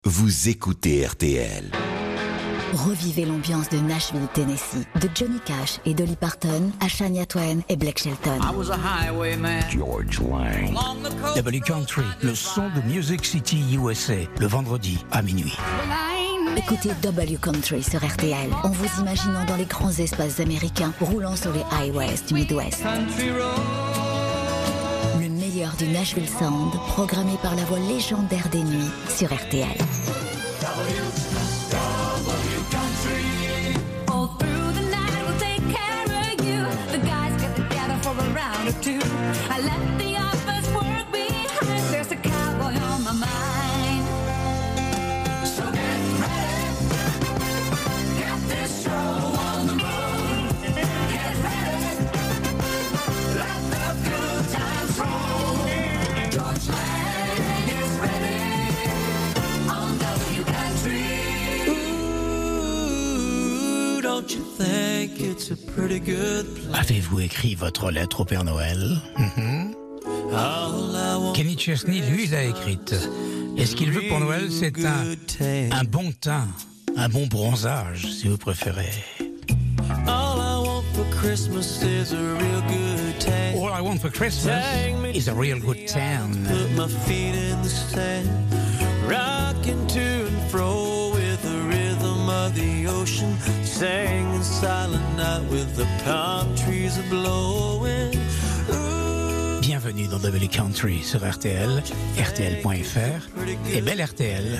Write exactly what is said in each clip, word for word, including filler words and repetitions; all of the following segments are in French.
Vous écoutez R T L. Revivez l'ambiance de Nashville, Tennessee, de Johnny Cash et Dolly Parton à Shania Twain et Blake Shelton. I was a highwayman. George Lang. W Country, le son de Music City U S A, le vendredi à minuit. Écoutez W Country sur R T L en vous imaginant dans les grands espaces américains roulant sur les highways du Midwest. Le meilleur du Nashville Sound, programmé par la voix légendaire des nuits sur R T L. Avez-vous écrit votre lettre au Père Noël? Mm-hmm. Kenny Chesney, lui, l'a écrite. Et ce qu'il veut pour Noël, c'est un, un bon teint, un bon bronzage, si vous préférez. All I want for Christmas is a real good tan. All I want for Christmas is a real good tan. Put my feet in the sand, rocking to and fro with the rhythm of the ocean, singing silent night with the palm trees a blowing. Bienvenue dans W Country sur R T L, R T L point F R et belle R T L.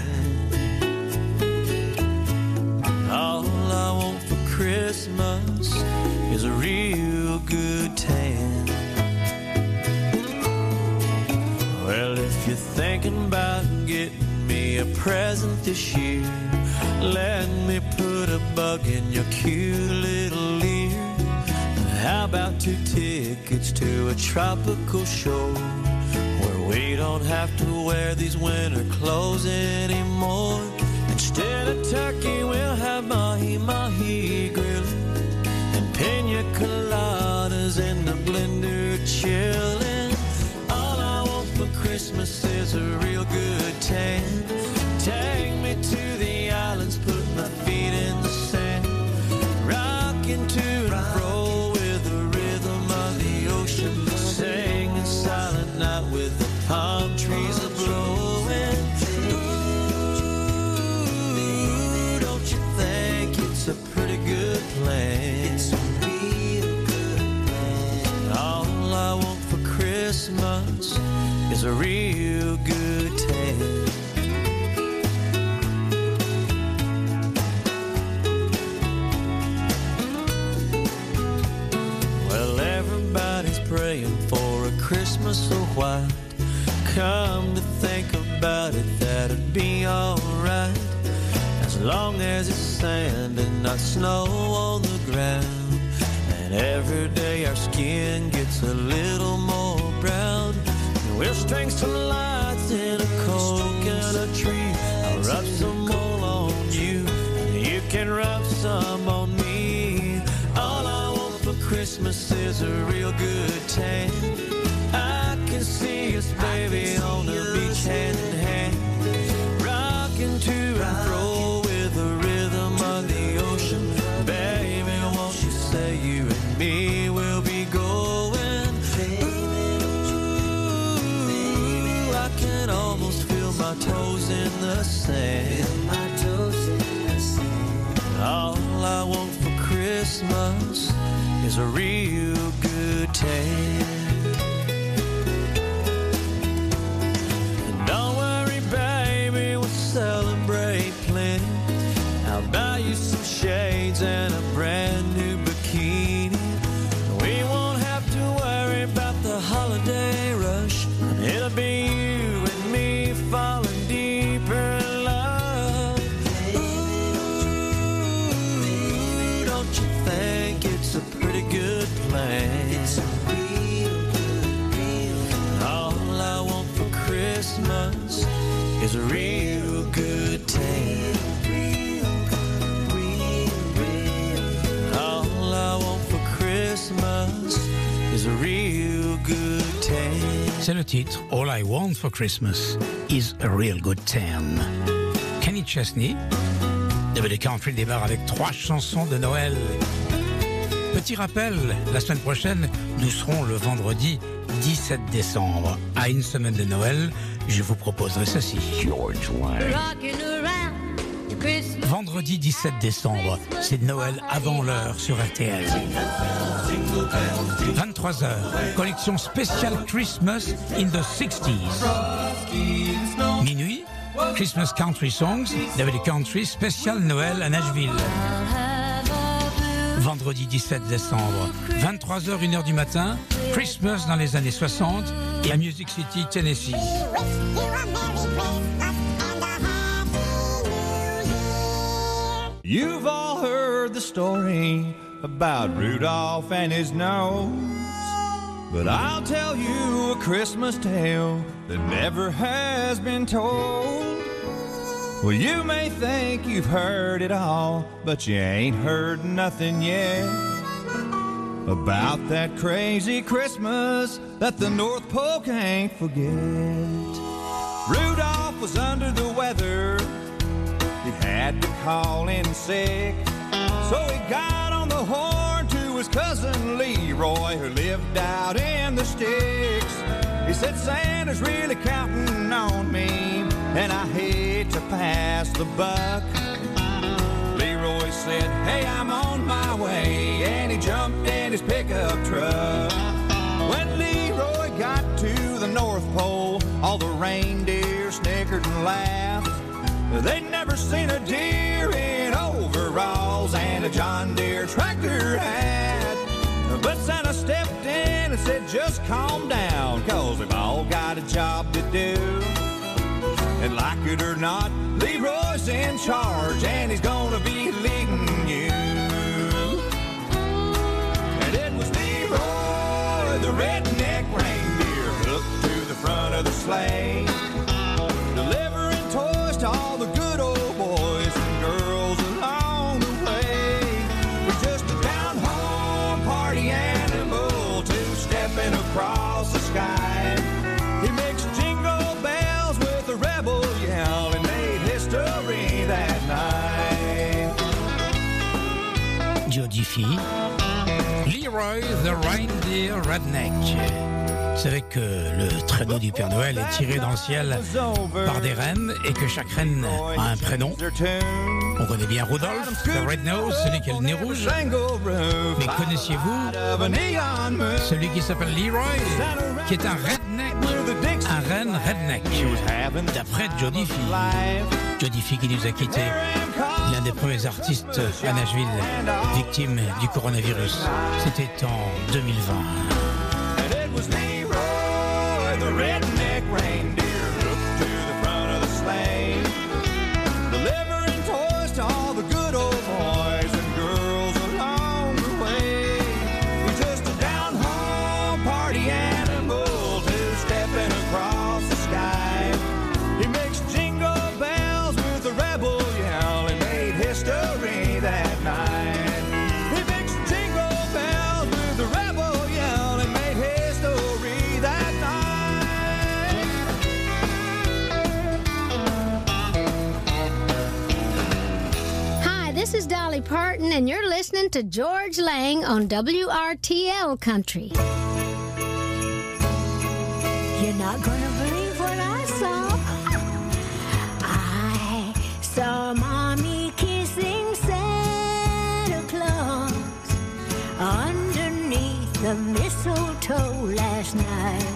All I want for Christmas is a real good tan. Well, if you're thinking about getting me a present this year, let me put a bug in your cute little ear. How about two tickets to a tropical show where we don't have to wear these winter clothes anymore? Instead of turkey, we'll have mahi-mahi grilling and pina coladas in the blender chilling. All I want for Christmas is a real good tan. Take me to the islands, put my feet in the sand, rocking to and fro with the rhythm of the ocean, singing silent night with the palm trees a blowing. Ooh, don't you think it's a pretty good plan? It's a real good plan. All I want for Christmas is a real good tan. Praying for a Christmas so white. Come to think about it, that'd be alright, as long as it's sand and not snow on the ground. And every day our skin gets a little more brown. And we'll string some lights in a coconut tree. I'll rub some wool on you, and you can rub some on me. All I want for Christmas is a real good tan. I can see us, baby, on the beach hand in hand, rocking to and fro with the rhythm of the ocean. Baby, won't you say you and me will be going? Ooh, I can almost feel my toes in the sand. All I want for Christmas is a real good tan. And don't worry, baby, we'll celebrate plenty. I'll buy you some shades and a brand new bikini. We won't have to worry about the holiday rush, and it'll be you and me falling deeper in love. Ooh, don't you think it's a pretty good plan? It's a real good, real good. All I want for Christmas is a real good tan. Real good, real, real. All I want for Christmas is a real good tan. C'est le titre All I Want for Christmas is a Real Good Tan. Chesney. W W Country démarre avec trois chansons de Noël. Petit rappel, la semaine prochaine, nous serons le vendredi dix-sept décembre. À une semaine de Noël, je vous proposerai ceci. George Lang. Vendredi dix-sept décembre, c'est Noël avant l'heure sur R T L. vingt-trois heures, collection spéciale Christmas in the sixties. Minuit, Christmas Country Songs, W W Country spécial Noël à Nashville. Vendredi dix-sept décembre, vingt-trois heures, une heure du matin, Christmas dans les années soixante et à Music City, Tennessee. You've all heard the story about Rudolph and his nose, but I'll tell you a Christmas tale that never has been told. Well, you may think you've heard it all, but you ain't heard nothing yet about that crazy Christmas that the North Pole can't forget. Rudolph was under the weather. He had to call in sick, so he got on the horn to his cousin Leroy, who lived out in the sticks. He said, Santa's really counting on me, and I hate to pass the buck. Leroy said, hey, I'm on my way, and he jumped in his pickup truck. When Leroy got to the North Pole, all the reindeer snickered and laughed. They'd never seen a deer in overalls and a John Deere tractor hat. But Santa stepped in and said, just calm down, 'cause we've all got a job to do. And like it or not, Leroy's in charge, and he's gonna be leading you. And it was Leroy, the redneck reindeer, hooked to the front of the sleigh, delivering toys to all the good old boys and girls along the way. We're just a down-home party animal, two-stepping across the sky. He makes jingle bells with a rebel yell and made history that night. Joe Diffie, Leroy the Reindeer Redneck. Vous savez que le traîneau du Père Noël est tiré dans le ciel par des rennes et que chaque reine a un prénom. On connaît bien Rudolph, le Red Nose, celui qui a le nez rouge. Mais connaissiez-vous celui qui s'appelle Leroy, qui est un redneck, un renne redneck, d'après Joe Diffie. Joe Diffie qui nous a quittés, l'un des premiers artistes à Nashville, victime du coronavirus. C'était en deux mille vingt. The redneck reindeer hooked to the front of the sleigh, delivering toys to all the good old boys and girls along the way. He's just a down-home party animal, two-stepping across the sky. He makes jingle bells with a rebel yell and made history that night. He makes jingle bells with a rebel yell and made history that night. This is Dolly Parton, and you're listening to George Lang on W R T L Country. You're not gonna believe what I saw. I saw Mommy kissing Santa Claus underneath the mistletoe last night.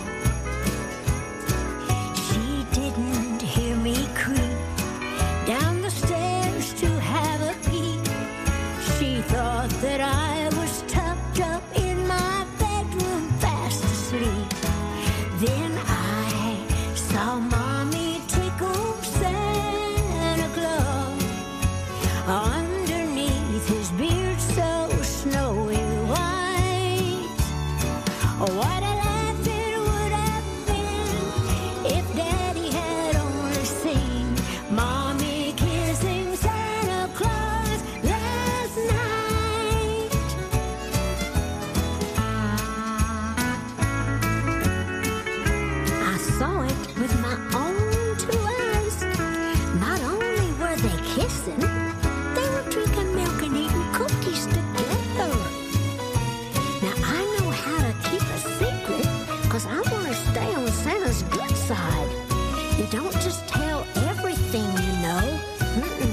She didn't hear me creep down the stairs to have a peek. She thought that I was tucked up in my bedroom fast asleep. Then I saw Mommy tickle Santa Claus underneath his beard so snowy white. What a laugh it would say kissing. They were drinking milk and eating cookies together. Now I know how to keep a secret, cause I want to stay on Santa's good side. You don't just tell everything you know. Mm-mm.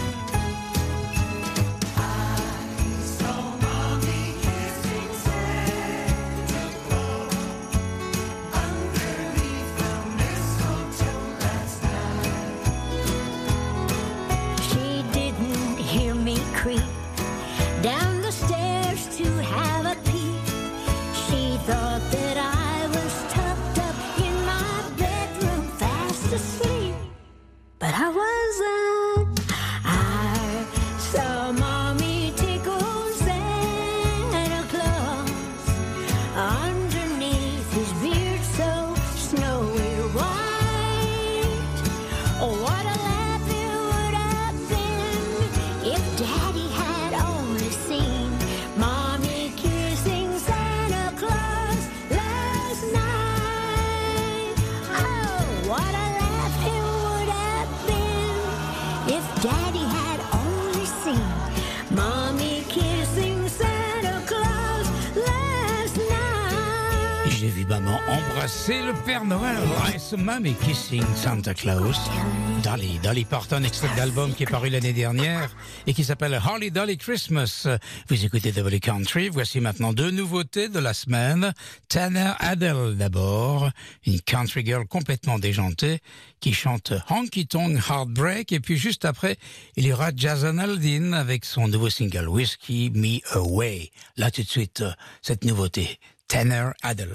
Creep down the stairs to have a peek. She thought that I was tucked up in my bedroom fast asleep, but I wasn't. I saw Mommy tickle Santa Claus underneath his beard so snowy white. Oh, what a laugh it would have been if Daddy had only seen Mommy kissing Santa Claus last night. Oh, what a laugh it would have been if Daddy had only seen Mommy kissing Santa Claus last night. J'ai vu maman embrasser le Père Noël. I saw Mommy kissing Santa Claus. Dolly, Dolly Parton, extrait d'album qui est paru l'année dernière et qui s'appelle Holly Dolly Christmas. Vous écoutez W Country. Voici maintenant deux nouveautés de la semaine. Tanner Adell d'abord, une country girl complètement déjantée qui chante Honky Tonk Heartbreak. Et puis juste après, il y aura Jason Aldean avec son nouveau single Whiskey Me Away. Là tout de suite, cette nouveauté, Tanner Adell.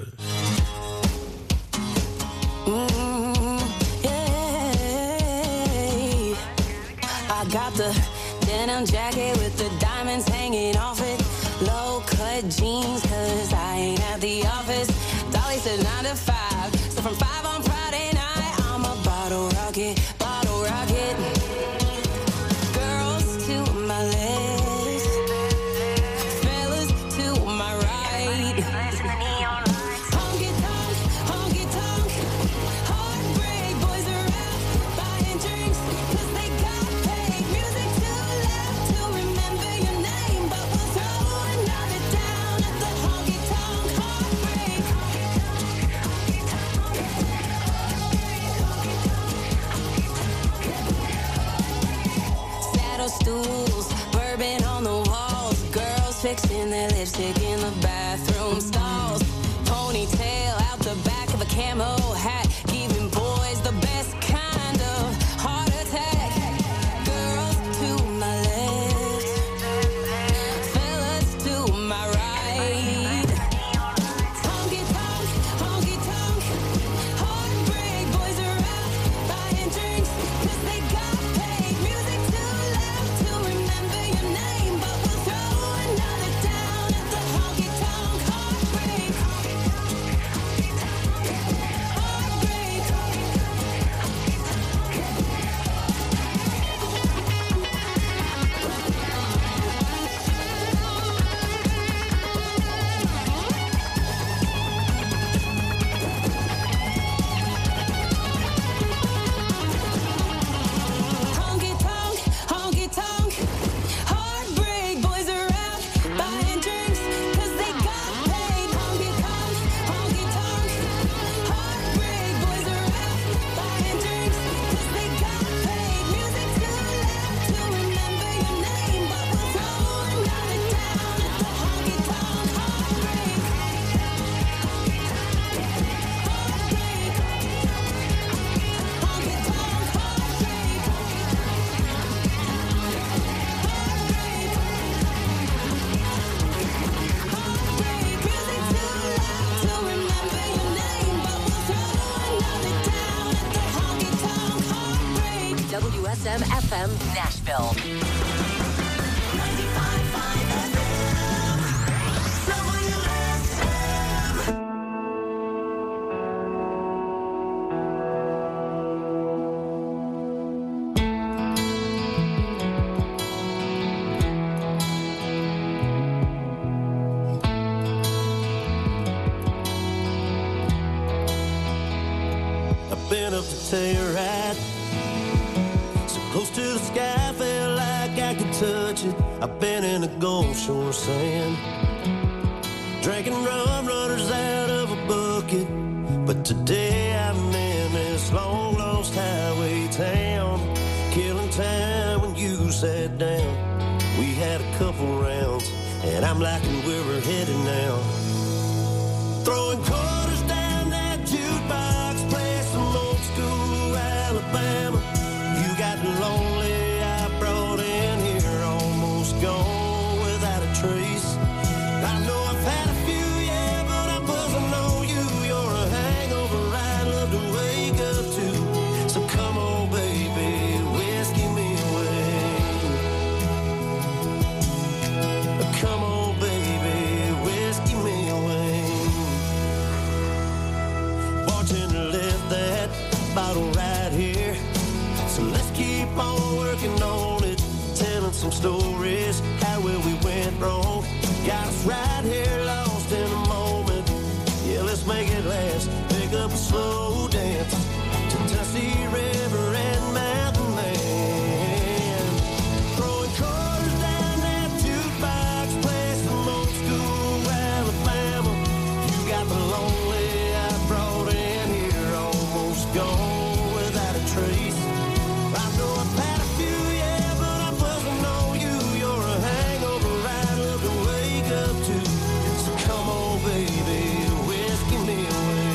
I got the denim jacket with the diamonds hanging off it. Low-cut jeans, cause I ain't at the office. Dolly said nine to five, so from five on Friday night, I'm a bottle rocket, bottle rocket. Girls to my left, fellas to my right. Honky tonk, honky tonk, heartbreak boys are out buying drinks, cause they got paid. Music too loud to remember your name, but we'll throw another down at the honky tonk heartbreak. Saddle stools, bourbon on the walls, girls fixing their lipstick in the bathroom stalls. Ponytail out the back of a camo hat, giving boys the best kind of heart attack. Girls to my left, fellas to my right. Honky tonk, honky tonk, heartbreak boys are out buying drinks, cause they got paid. Music too loud to remember your name, but we'll throw another down at the honky tonk heartbreak. Honky tonk, honky tonk, heartbreak boys are out buying drinks, cause they got paid. Honky tonk, honky tonk, heartbreak boys are out buying drinks, cause they got paid. Music too loud to remember your name, but we'll throw another down at the honky tonk heartbreak. Heartbreak, honky tonk heartbreak. W S M F M Nashville. I've been up to Telluride, so close to the sky. touch it. I've been in the Gulf Shore sand, drinking rum runners out of a bucket. But today I'm in this long lost highway town, killing time when you sat down. We had a couple rounds, and I'm liking where we're headed now. Throwing quarters down that jukebox, play some old school Alabama. You got lonely, I brought in here, almost gone without a trace. I know I've had a few, yeah, but I'm buzzing on you. You're a hangover I'd love to wake up to. So come on, baby, whiskey me away. Come on, baby, whiskey me away. Bartender left that bottle right here, so let's keep on working on it, telling some stories, how well we went wrong. Got us right here, lost in a moment. Yeah, let's make it last. Pick up a slow dance to Tennessee River and Mountain Man. Throwing quarters down that jukebox, play some old school Alabama. You got the lonely I brought in here, almost gone without a trace. I know I've had a few, yeah, but I'm buzzing on you. You're a hangover I'd love to wake up to. So come on, baby, whiskey me away.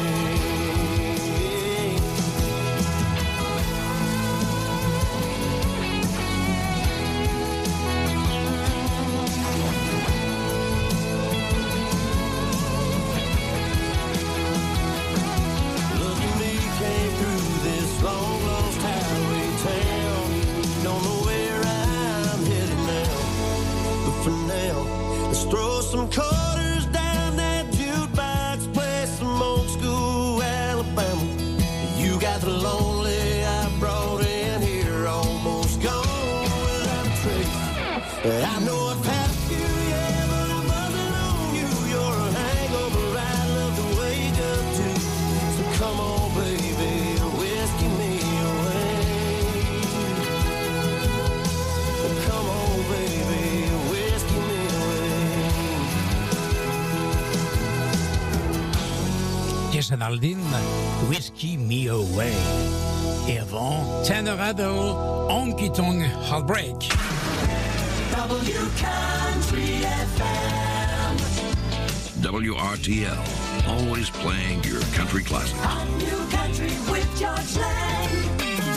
Look at me, came through this long lost highway town. Don't know where I'm headed now, but for now, let's throw some quarters down that jukebox, play some old school Alabama. You got the lonely I brought in here, almost gone without a trace. I know I've had a few, yeah, but I'm buzzing on you. You're a hangover I'd love to wake up to. So come on, baby, whiskey me away. Come on, baby, whiskey me away. Jason Aldean, Whiskey Me Away. Et avant, Tanner Addo, Honky Tonk Heartbreak. W Country F M. W R T L, always playing your country classics. On New Country with George Lang.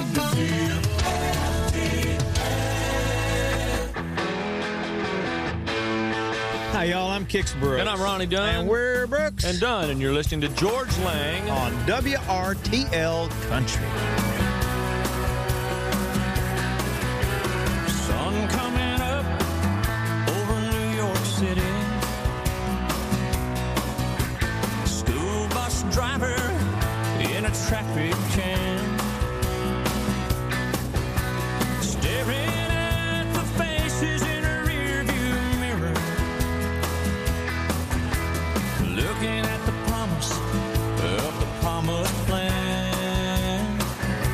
Hi, y'all. I'm Kix Brooks. And I'm Ronnie Dunn. And we're Brooks. And Dunn, and you're listening to George Lang on W R T L Country. Sun coming up over New York City. School bus driver in a traffic jam, staring at the faces in a rearview mirror, looking at the promise of the promised land.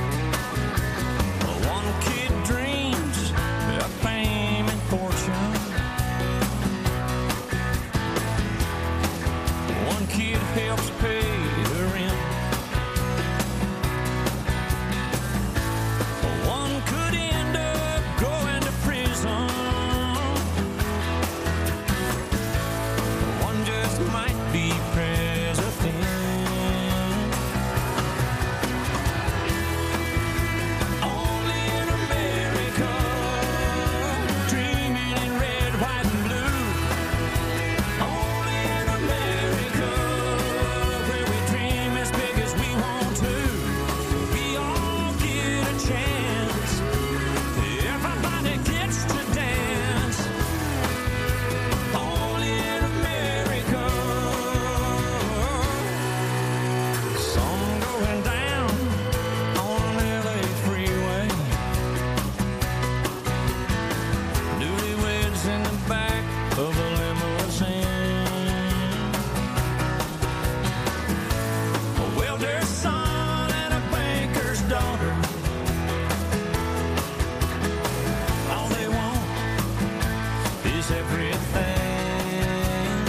she's everything.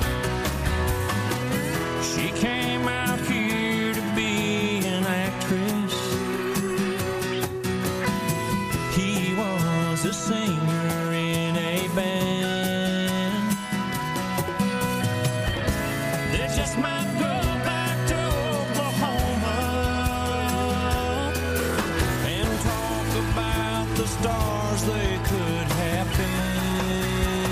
She came out here to be an actress. He was a singer in a band. They just might go back to Oklahoma and talk about the stars they could have been.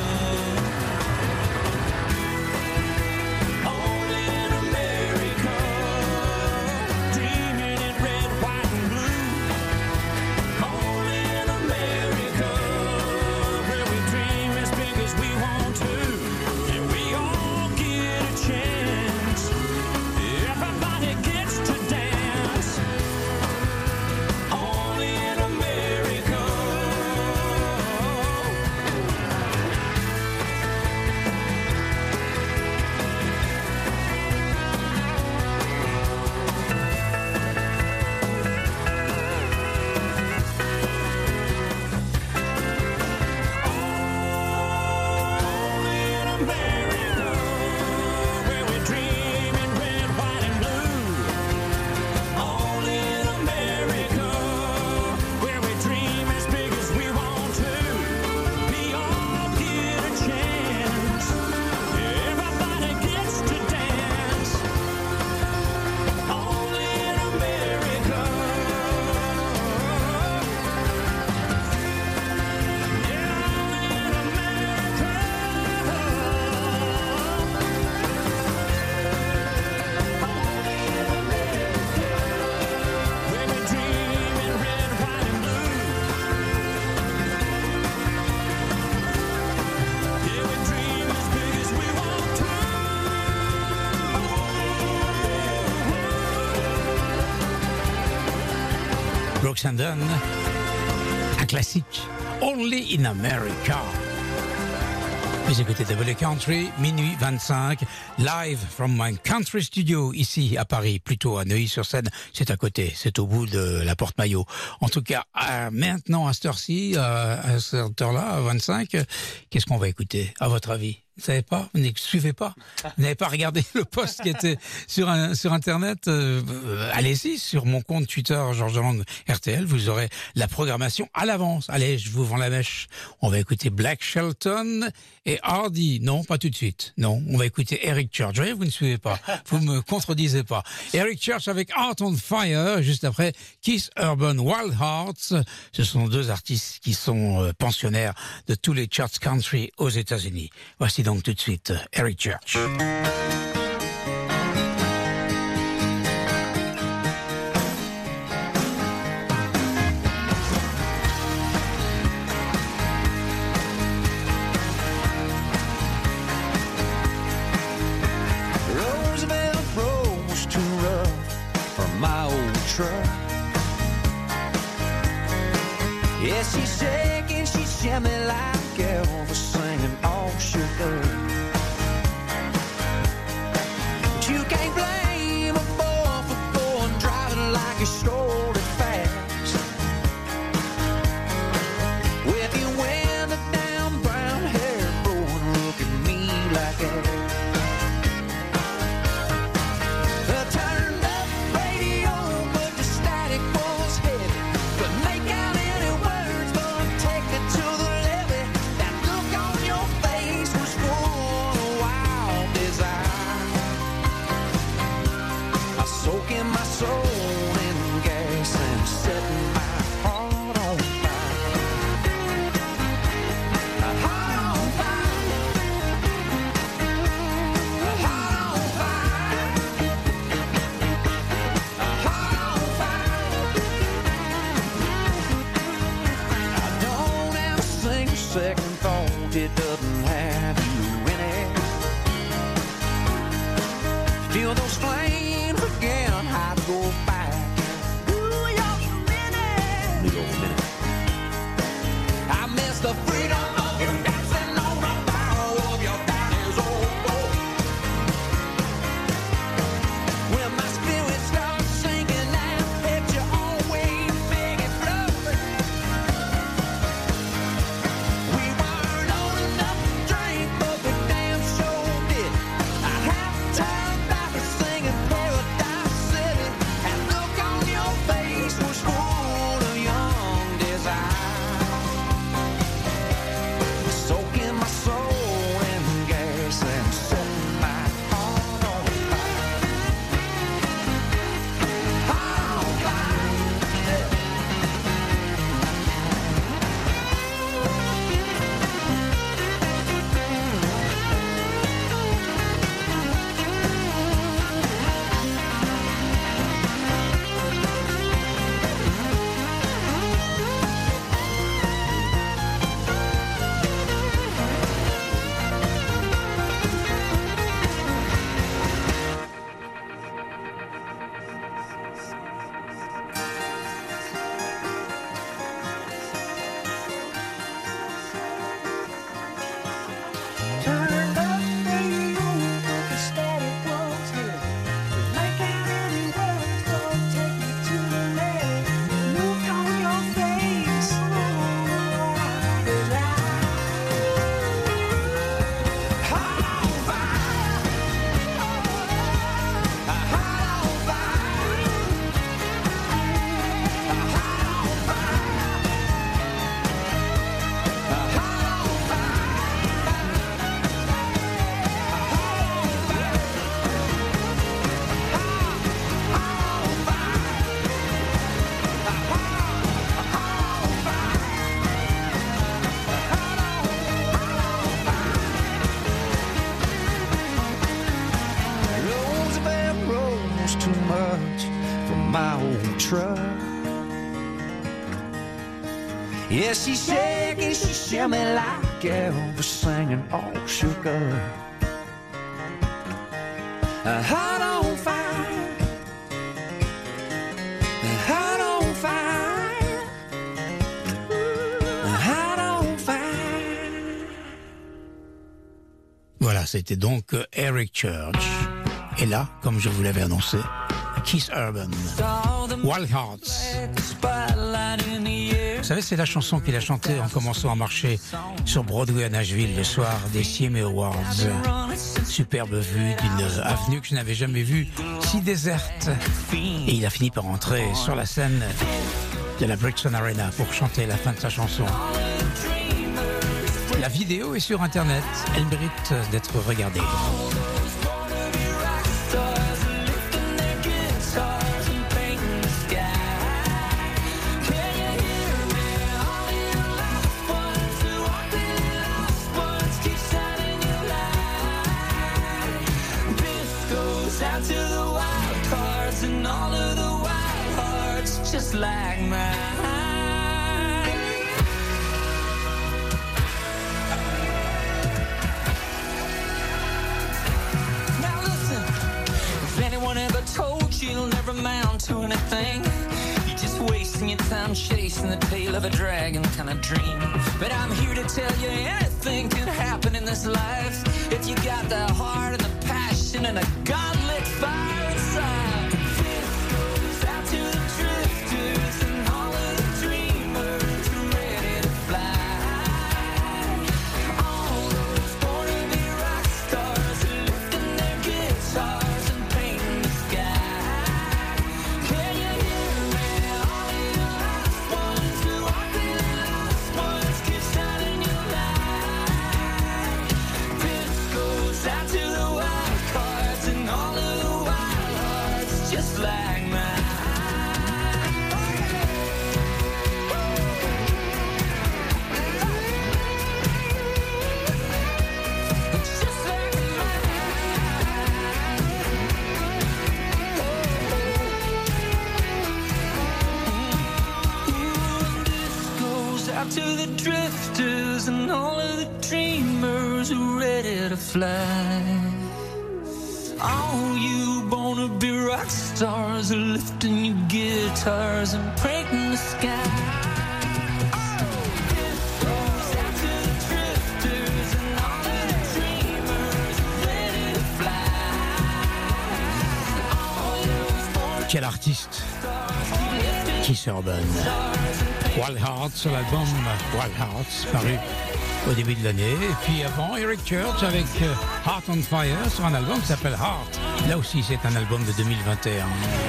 Only in America, dreaming in red, white, and blue. Only in America, where we dream as big as we want to. And we all get a chance. Everybody gets to dance. Only in America. Only in America, where we dream in red, white, and blue. Only in America, where we dream as big as we want to. We all get a chance. Everybody gets to dance. Only in America. Where we dream in red, white, and blue. Yeah, we dream as big as we want to. Brooks and Dunn, un classique, Only in America. Vous écoutez W Country, minuit vingt-cinq, live from my country studio, ici à Paris, plutôt à Neuilly-sur-Seine. C'est à côté, c'est au bout de la Porte-Maillot. En tout cas, euh, maintenant, à cette heure-ci, euh, à cette heure-là, à vingt-cinq, euh, qu'est-ce qu'on va écouter, à votre avis? Vous savez pas? Vous ne suivez pas? Vous n'avez pas regardé le post qui était sur un, sur Internet? euh, euh, Allez-y, sur mon compte Twitter, Georges Lang R T L, vous aurez la programmation à l'avance. Allez, je vous vends la mèche. On va écouter Black Shelton et Hardy. Non, pas tout de suite. Non, on va écouter Eric Church. Vous voyez, vous ne suivez pas. Vous me contredisez pas. Eric Church avec Heart on Fire, juste après Keith Urban, Wild Hearts. Ce sont deux artistes qui sont euh, pensionnaires de tous les charts country aux États-Unis. Voici donc tout de suite Eric Church. Roosevelt Road was too rough for my old truck. Yeah, she's shaking, she's jamming like Elvis singing all shook up. But you can't blame a boy for going driving like he strolled it fast. With you wind down, brown hair blowing, look at me like that. The turned up radio, but the static was heavy. Couldn't make out any words, but take it to the levee. That look on your face was full of wild desire. I soak in my soul in gas and setting my heart on fire. A heart on fire. A heart on fire. A heart on fire. I don't have a single second thought it doesn't have you in it. Feel those flames again, I'd go back. Ooh, you're a minute. Need over a minute. I miss the freedom of you dancing on the barrel of your daddy's old boat. When my spirit starts sinking down, let you always make it float. We weren't old enough truck. Yeah, she's shaking, she shimmy like Elvis singing, all shook up. A heart on fire, a heart on fire, a heart on fire. Voilà, c'était donc Eric Church. Et là, comme je vous l'avais annoncé, Keith Urban, Wild Hearts. Vous savez, c'est la chanson qu'il a chantée en commençant à marcher sur Broadway à Nashville le soir des C M A Awards. Superbe vue d'une avenue que je n'avais jamais vue si déserte. Et il a fini par entrer sur la scène de la Bridgestone Arena pour chanter la fin de sa chanson. La vidéo est sur Internet. Elle mérite d'être regardée. Just like mine. Now listen, if anyone ever told you you'll never amount to anything, you're just wasting your time chasing the tail of a dragon kind of dream. But I'm here to tell you anything can happen in this life if you got the heart and the passion and a God-lit fire inside. To the drifters and all of the dreamers who are ready to fly. All you wanna be rock stars are lifting your guitars and painting the sky. Quel artiste, Keith Urban. Wild Hearts sur l'album Wild Hearts, paru au début de l'année. Et puis avant, Eric Church avec Heart on Fire sur un album qui s'appelle Heart. Là aussi, c'est un album de deux mille vingt et un.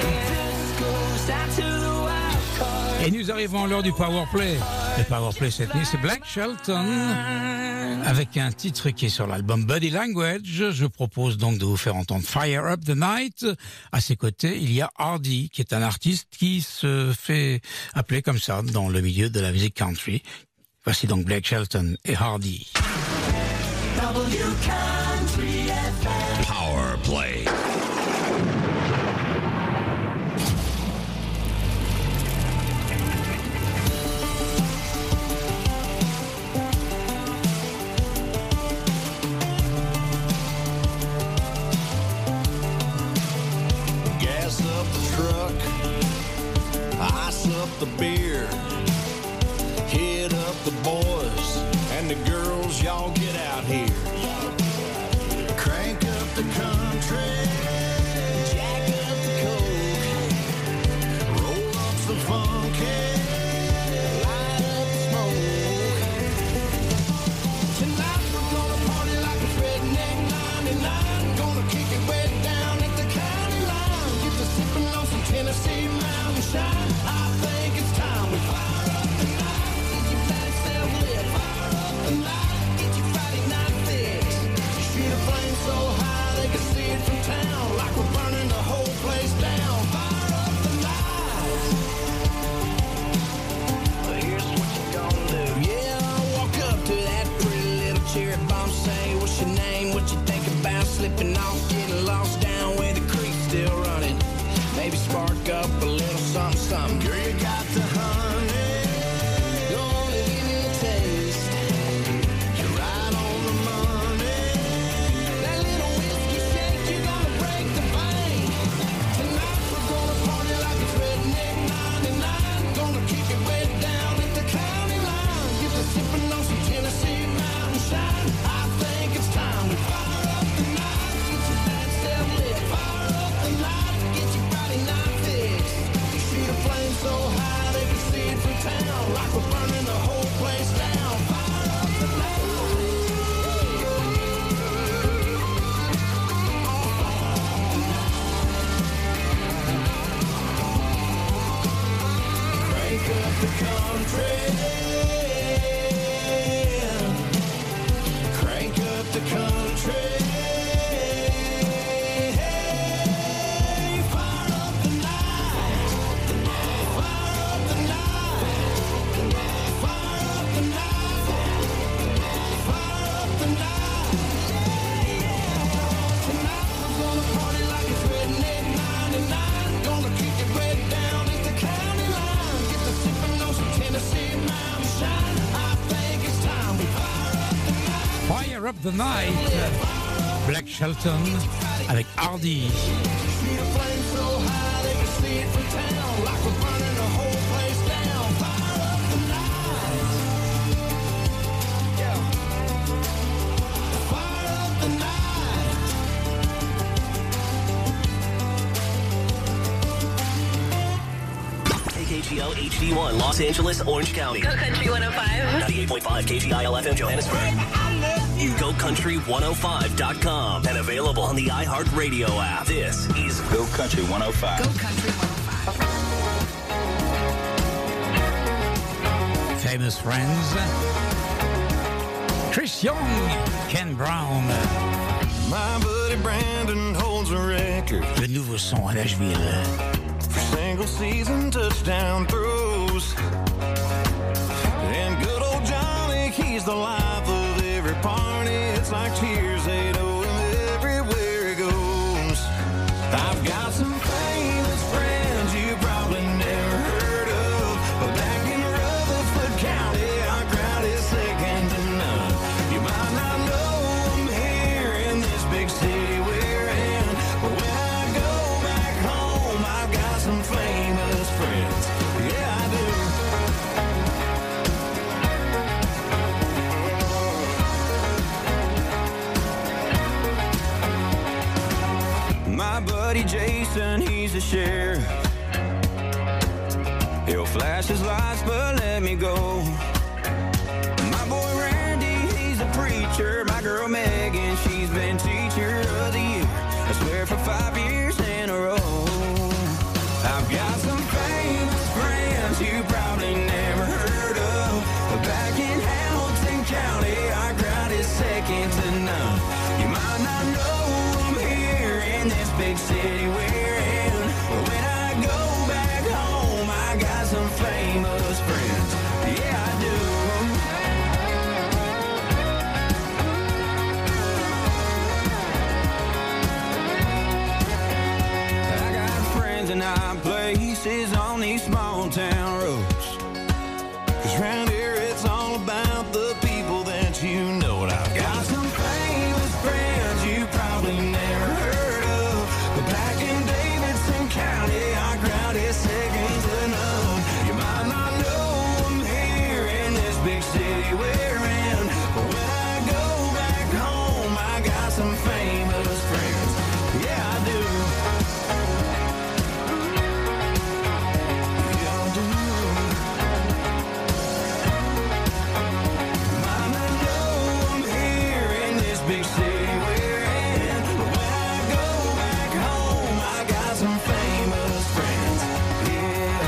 Et nous arrivons à l'heure du Powerplay. Le Powerplay cette nuit, c'est Blake Shelton avec un titre qui est sur l'album Body Language. Je propose donc de vous faire entendre Fire Up the Night. À ses côtés, il y a Hardy, qui est un artiste qui se fait appeler comme ça dans le milieu de la musique country. Voici donc Blake Shelton et Hardy. Powerplay. Ice up the beer, hit up the boys and the girls, y'all get out here. Crank up the country, jack up the coke, roll up some funky, light up the smoke. Tonight we're gonna party like it's Redneck ninety-nine, gonna kick it way down at the county line, get to sipping on some Tennessee mountain shine. I think it's time we fire up the night. Get your fat self lit, fire up the night. Get your Friday night fit. Fire Up the Night, Black Shelton avec Hardy. K G L H D one, Los Angeles, Orange County. Go Country one oh five. ninety-eight point five K G I L F M, Johannesburg. Go Country one oh five dot com and available on the iHeartRadio app. This is Go Country one oh five. Go Country one oh five. Famous Friends. Chris Young, Ken Brown. My buddy Brandon holds a record. Le nouveau son à Nashville. For single season touchdown throws. And good old Johnny, he's the life of every party. It's like cheers, they know him everywhere he goes. I've got some famous friends you probably never heard of. But back in Rutherford County, our crowd is second to none. You might not know them here in this big city we're in. But when I go back home, I've got some famous friends. Yeah, I do. My buddy Jason, he's a sheriff. He'll flash his lights, but let me go. My boy Randy, he's a preacher. My girl Megan, she's been teacher of the year. I swear for five years in a row. I've got some famous friends you probably never heard of. But back in Hamilton County, our crowd is second to none. You might not know them here in this big city we're in. But when I go back home, I got some famous friends. Yeah, I do. I got friends in high places on these small town roads. 'Cause round here it's all about the people that you know. And I've got some famous friends you probably never heard of. But back in Davidson County, our crowd is second to none. You might not know them here in this big city we're in. But when I go back home, I got some famous friends. Yeah, I do. Yeah, I do. Might not know them here in this big city we're in. But when I go back home, I got some famous friends. Yeah.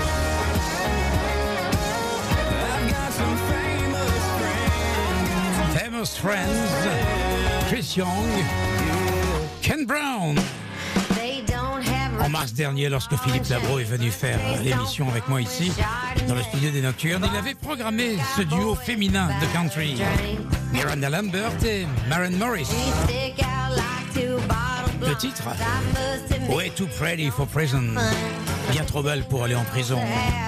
I've got some famous friends. Famous Friends. Chris Young, Ken Brown. En mars dernier, lorsque Philippe Labro est venu faire l'émission avec moi ici, dans le studio des Nocturnes, il avait programmé ce duo féminin de country. Miranda Lambert et Maren Morris. Le titre, Way Too Pretty for Prison. Bien trop belle pour aller en prison.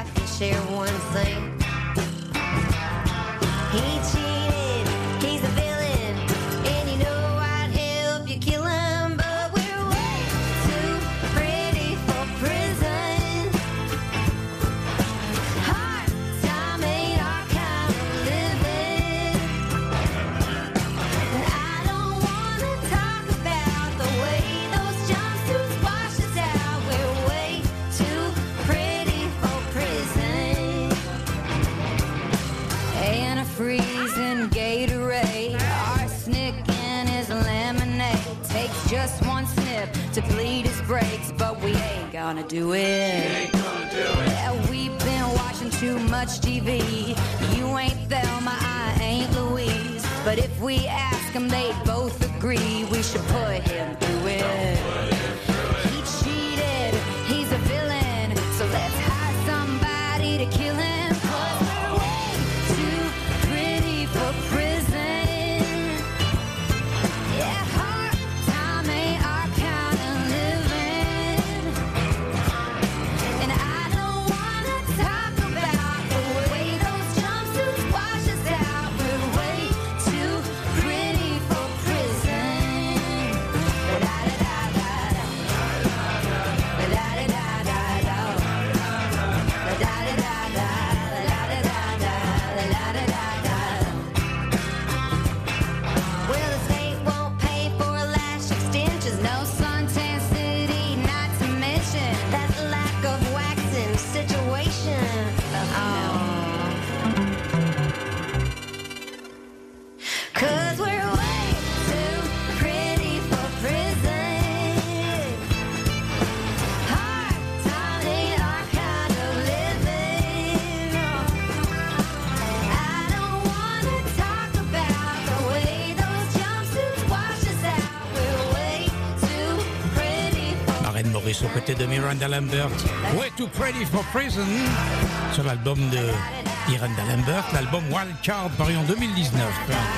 Freezing Gatorade, arsenic in his lemonade. Takes just one snip to bleed his brakes, but we ain't gonna do it. Ain't gonna do it. Yeah, we've been watching too much T V. You ain't Thelma, I ain't Louise. But if we ask them, they'd both agree we should put him through it. He cheated, he's a villain, so let's hire somebody to kill him. Pretty for 'Cause we're way too pretty for prison. Hard times ain't our kind of living. I don't wanna talk about the way those jumpsuits wash us out. We're way too pretty for Maren Morris aux côtés de Miranda Lambert. Way Too Pretty for Prison. Sur l'album de Miranda Lambert, l'album Wild Card paru en deux mille dix-neuf.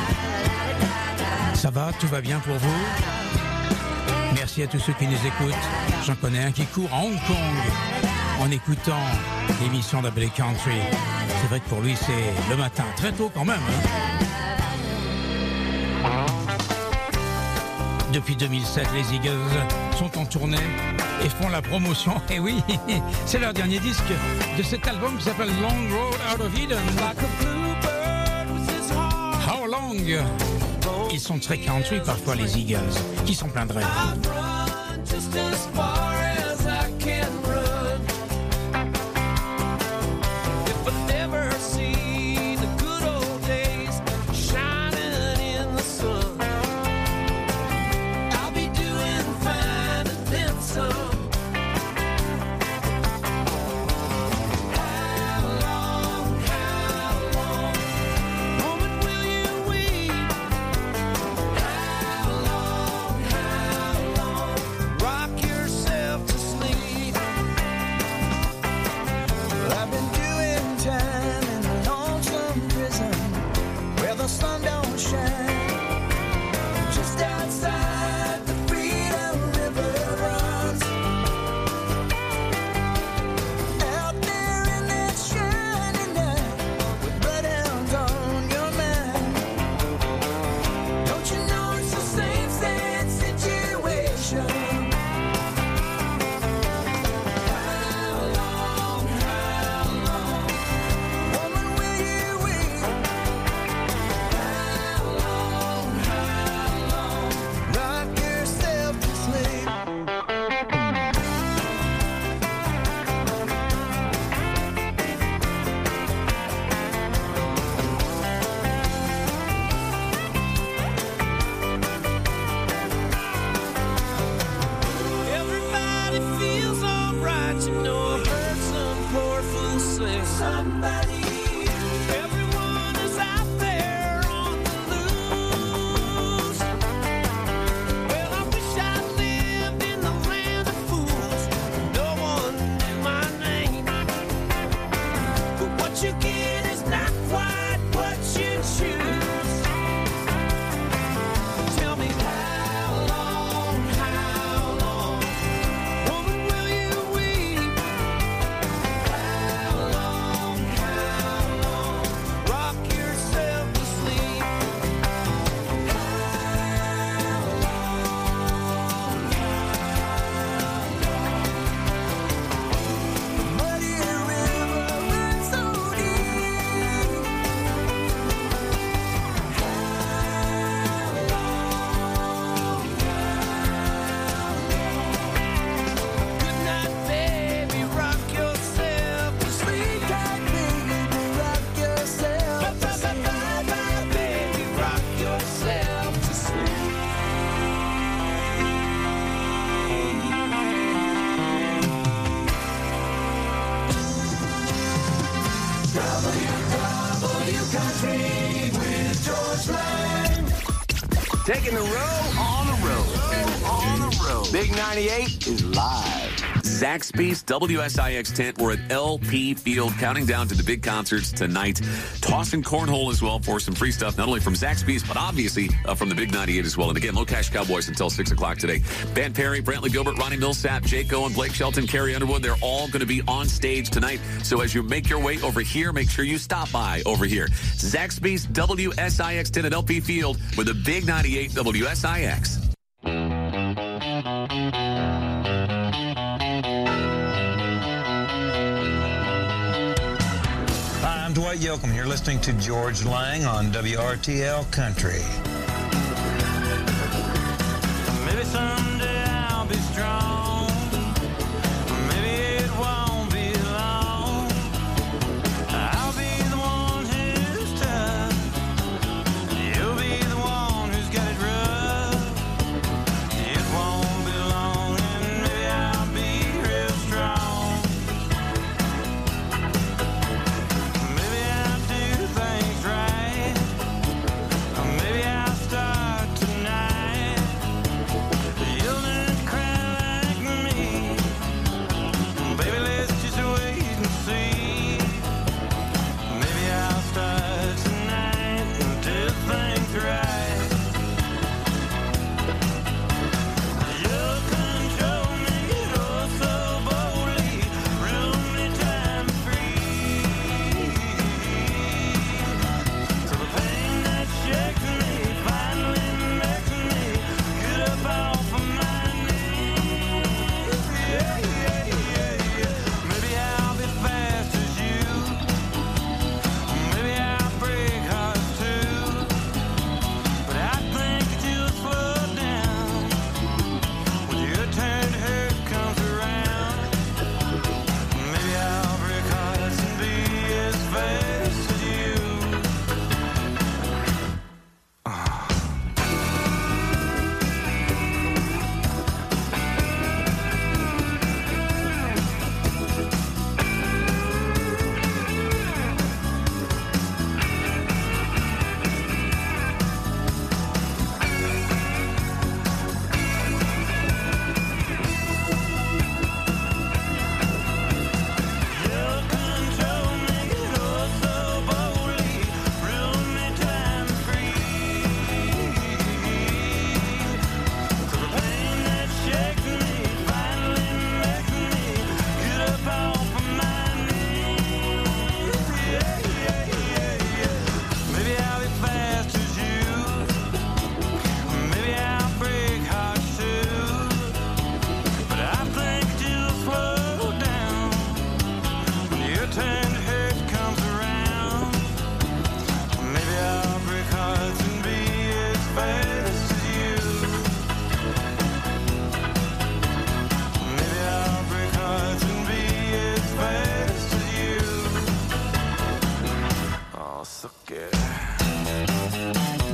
Ça va, tout va bien pour vous? Merci à tous ceux qui nous écoutent. J'en connais un qui court à Hong Kong en écoutant l'émission d'Abbey Country. C'est vrai que pour lui c'est le matin, très tôt quand même. Hein. Depuis deux mille sept, les Eagles sont en tournée et font la promotion. Et oui, c'est leur dernier disque de cet album qui s'appelle Long Road Out of Eden. How long? Ils sont très country parfois, les Eagles. Qui s'en plaindrait? Taking the road on the road. On the road. Big ninety-eight is live. Zaxby's W S I X tent. We're at L P Field, counting down to the big concerts tonight. Tossing cornhole as well for some free stuff, not only from Zaxby's, but obviously uh, from the Big ninety-eight as well. And again, Low Cash Cowboys until six o'clock today. Ben Perry, Brantley Gilbert, Ronnie Millsap, Jake Owen, Blake Shelton, Carrie Underwood, they're all going to be on stage tonight. So as you make your way over here, make sure you stop by over here. Zaxby's W S I X tent at L P Field with the Big ninety-eight W S I X. I'm Dwight Yoakam. You're listening to George Lang on W R T L Country. Maybe someday I'll be strong. Maybe it won't be long. I'll be the one who's tough. You'll be the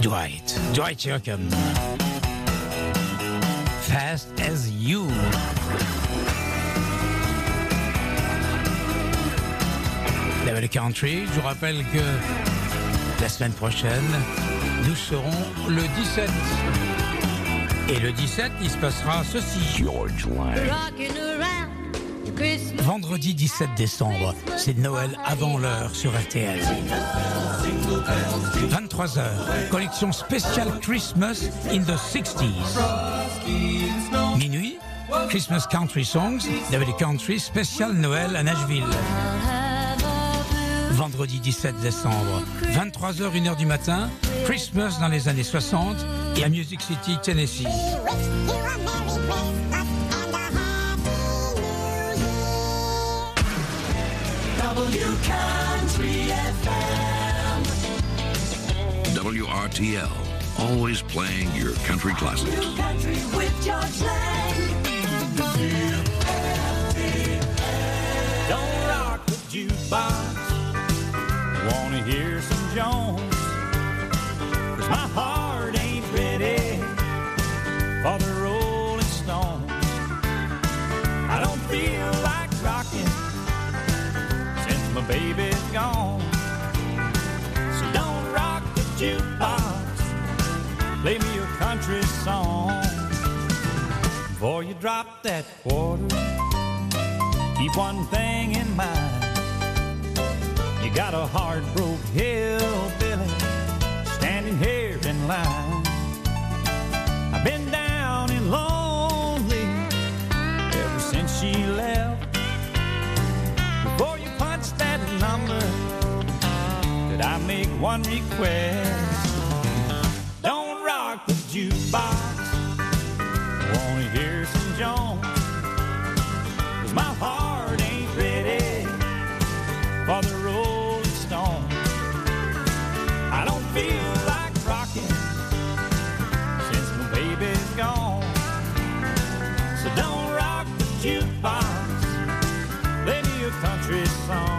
Dwight, Dwight Yoakam. Fast as You. Level Country, je vous rappelle que la semaine prochaine, nous serons le dix-sept. Et le dix-sept, il se passera ceci. George Lang. Vendredi dix-sept décembre, c'est Noël avant l'heure sur R T L. vingt-trois heures, collection spéciale Christmas in the sixties. Minuit, Christmas Country Songs, Level Country, spécial Noël à Nashville. Vendredi dix-sept décembre, vingt-trois heures, une heure du matin, Christmas dans les années soixante et à Music City, Tennessee. W R T L, always playing your country classics. Country with George Lang. Don't rock the jukebox. Wanna hear some Jones? 'Cause my heart ain't ready for the Rolling Stones. I don't feel like rocking since my baby's gone. So don't rock the jukebox. Play me a country song. Before you drop that quarter, keep one thing in mind. You got a hard-broke hillbilly standing here in line. I've been down and lonely ever since she left. Before you punch that number, could I make one request? Don't rock the jukebox. I wanna hear some Jones. 'Cause my heart ain't ready for the Rolling Stones. I don't feel like rocking since my baby's gone. So don't rock the jukebox. Play me a country song.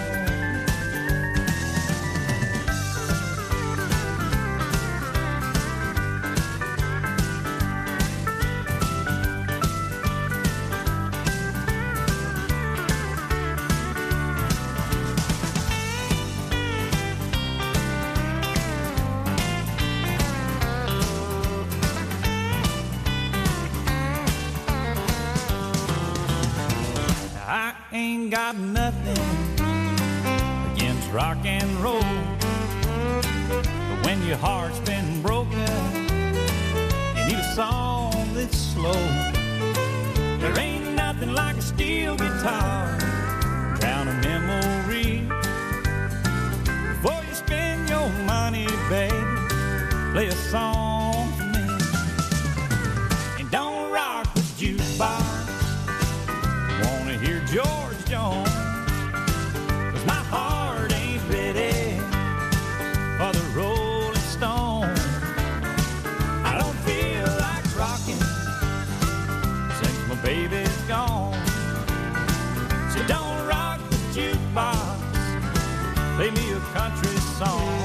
I ain't got nothing against rock and roll, but when your heart's been broken, you need a song that's slow. There ain't nothing like a steel guitar, drown a memory. Before you spend your money, baby, play a song for me. And don't rock the jukebox. Wanna hear George Jones? 'Cause my heart ain't ready for the Rolling Stones. I don't feel like rocking since my baby's gone. So don't rock the jukebox. Play me a country song.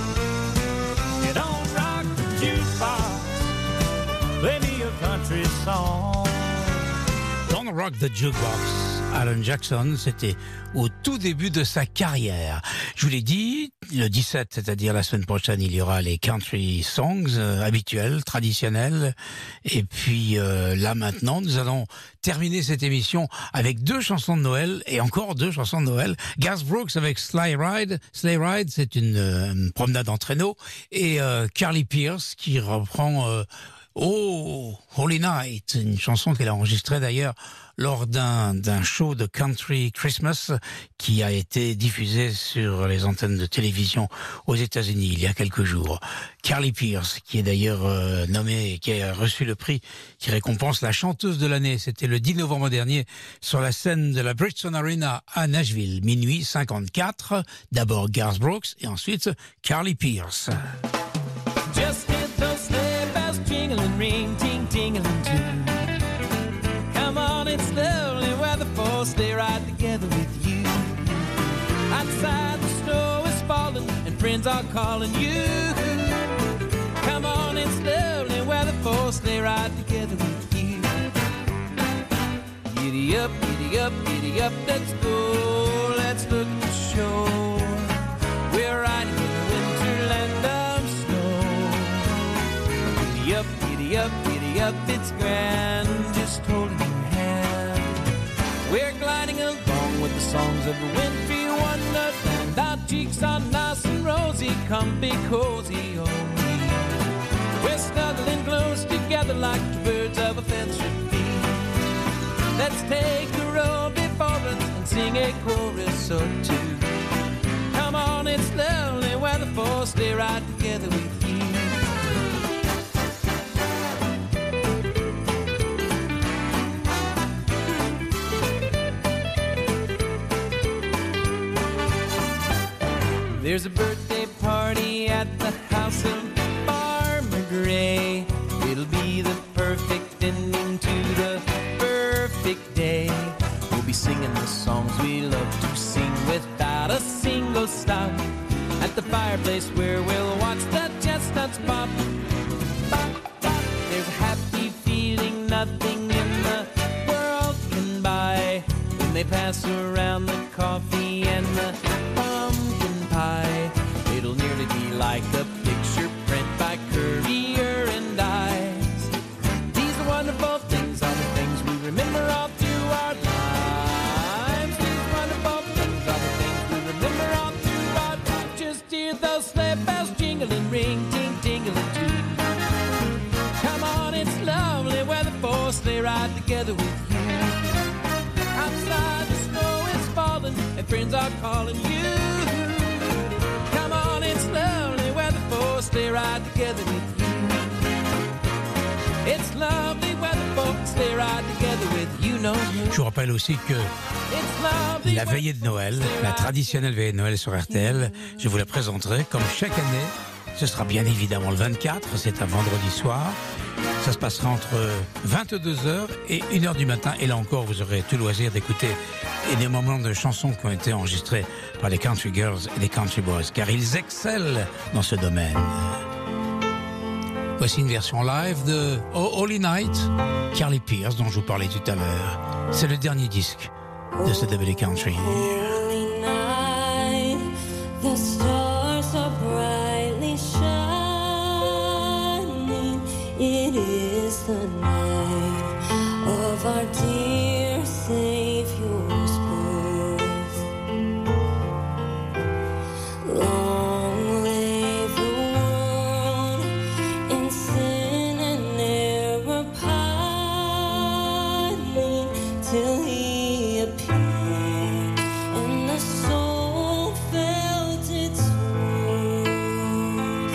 You don't rock the jukebox. Play me a country song. Don't Rock the Jukebox. Alan Jackson, c'était au tout début de sa carrière. Je vous l'ai dit, le dix-sept, c'est-à-dire la semaine prochaine, il y aura les country songs euh, habituels, traditionnels. Et puis euh, là maintenant, nous allons terminer cette émission avec deux chansons de Noël et encore deux chansons de Noël. Garth Brooks avec Sleigh Ride. Sleigh Ride, c'est une, euh, une promenade en traîneau. Et euh, Carly Pearce qui reprend euh, Oh, Holy Night, une chanson qu'elle a enregistrée d'ailleurs lors d'un d'un show de Country Christmas qui a été diffusé sur les antennes de télévision aux États-Unis il y a quelques jours. Carly Pearce, qui est d'ailleurs euh, nommée, qui a reçu le prix qui récompense la chanteuse de l'année. C'était le dix novembre dernier sur la scène de la Bridgestone Arena à Nashville, minuit cinquante-quatre. D'abord Garth Brooks et ensuite Carly Pearce. Just get those sleigh bells jingling, ring, ting, tingling too. Come on, it's lovely weather for a sleigh ride together with you. Outside the snow is falling and friends are calling you. it's lovely weather for sleigh ride together with you. Giddy up, giddy up, giddy up, let's go. Let's look at the shore. We're riding in the winterland of snow. Giddy up, giddy up, giddy up, it's grand, just holding your hand. We're gliding along with the songs of the wintry wonderland. Our cheeks are nice and rosy, come be cozy, oh me. We're snuggling close together like the birds of a feather should be. Let's take a row before us and sing a chorus or two. Come on, it's lovely weather for sleigh ride together with you. There's a birthday party at the house of Farmer Gray. It'll be the perfect ending to the perfect day. We'll be singing the songs we love to sing without a single stop. At the fireplace where we'll watch the chestnuts pop. Pop, pop. There's a happy feeling nothing in the world can buy when they pass around the coffee and the pumpkin pie. It'll nearly be like a picture print by Currier and Ives. These are wonderful things, are the things we remember all through our lives. These wonderful things are the things we remember all through our lives. Just hear those sleigh bells jingling, ring, ting, tingling too. Come on, it's lovely weather for sleigh ride together with you. Outside the snow is falling and friends are calling you. Come on, it's lovely weather for sleigh ride together with you. It's lovely weather for sleigh ride together with you. Know you. Je vous rappelle aussi que la veillée de Noël, la traditionnelle veillée de Noël sur R T L, je vous la présenterai comme chaque année. Ce sera bien évidemment le vingt-quatre, c'est un vendredi soir. Ça se passera entre vingt-deux heures et une heure du matin. Et là encore, vous aurez tout loisir d'écouter et des moments de chansons qui ont été enregistrés par les country girls et les country boys, car ils excellent dans ce domaine. Voici une version live de Oh Holy Night, Carly Pearce, dont je vous parlais tout à l'heure. C'est le dernier disque de ce W Country. Holy night, the stars are brightly shining. It is the night of our dear Savior's birth. Long lay the world in sin and error pining till He appeared and the soul felt its worth.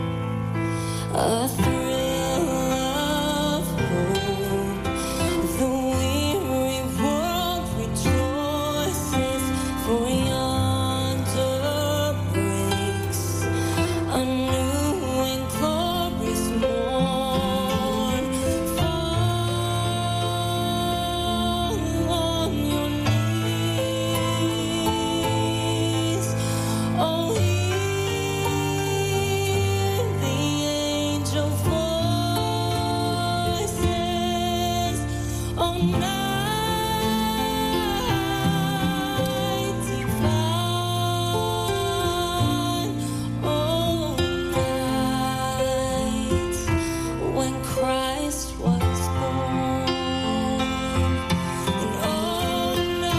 A thrill of hope, the weary world rejoices, for yonder breaks a new and glorious morn. Fall on your knees, oh, hear the angel voices, oh, night divine, oh, night when Christ was born, and oh,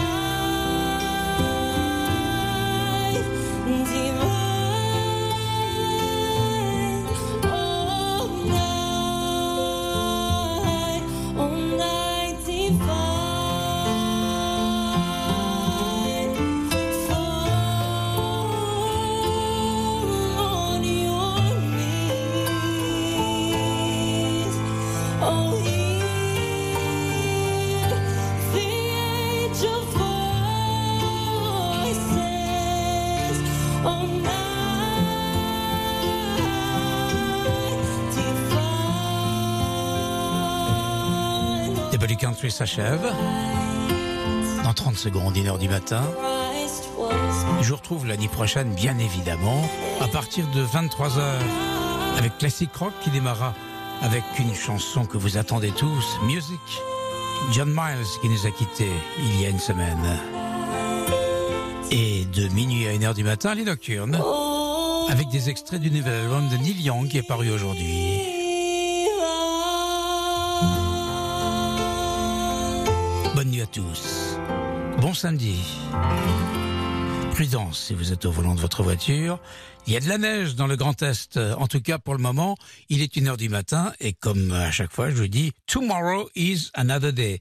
night divine, oh, night, oh, night divine, fall on your knees, oh, hear the angel voices, oh, night divine, W Country s'achève. Dans trente secondes, une heure du matin. Christ was Je vous retrouve l'année prochaine, bien évidemment, à partir de vingt-trois heures avec Classic Rock qui démarra avec une chanson que vous attendez tous, Music. John Miles qui nous a quittés il y a une semaine. Et de minuit à une heure du matin, les Nocturnes, avec des extraits du nouvel album de Neil Young qui est paru aujourd'hui. Bonne nuit à tous. Bon samedi. Prudence si vous êtes au volant de votre voiture. Il y a de la neige dans le Grand Est. En tout cas, pour le moment, il est une heure du matin. Et comme à chaque fois, je vous dis, tomorrow is another day.